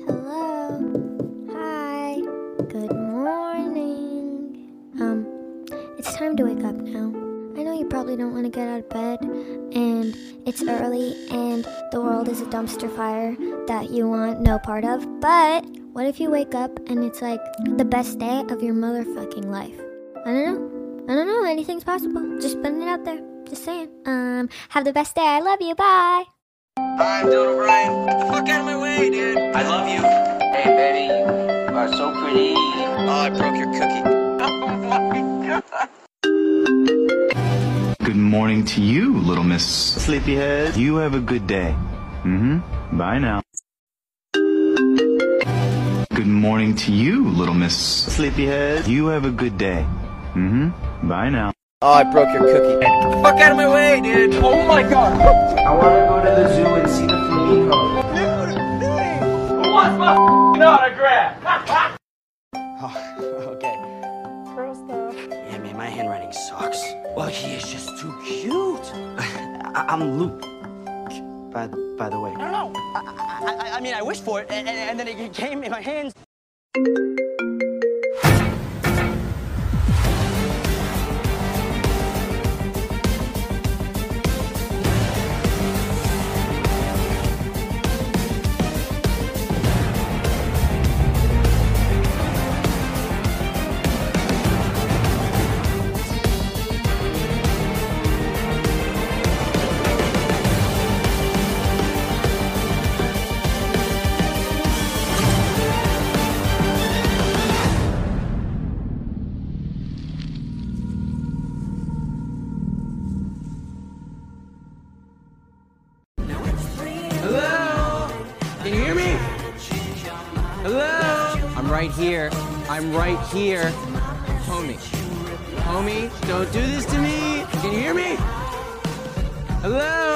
Hello. Hi. Good morning. It's time to wake up now. I know you probably don't want to get out of bed, and it's early, and the world is a dumpster fire that you want no part of, but what if you wake up and it's like the best day of your motherfucking life? I don't know, anything's possible. Just putting it out there. Just saying. Have the best day. I love you. Bye. I'm Dylan O'Brien. Get the fuck out of my way, dude. I love you. Hey, baby, you are so pretty. Oh, I broke your cookie. Oh my god. Good morning to you, little Miss Sleepyhead. You have a good day. Bye now. Good morning to you, little Miss Sleepyhead. You have a good day. Bye now. Oh, I broke your cookie. Get the fuck out of my way, dude. Oh my god. I want to go to the zoo and see the flamingo. Dude. Who wants my autograph? Oh, okay. Gross stuff. Yeah, man, my handwriting sucks. Well, he is just too cute. I'm Luke. By the way. No. I mean, I wished for it, and then it came in my hands. Can you hear me? Hello? I'm right here. I'm right here. Homie, don't do this to me. Can you hear me? Hello?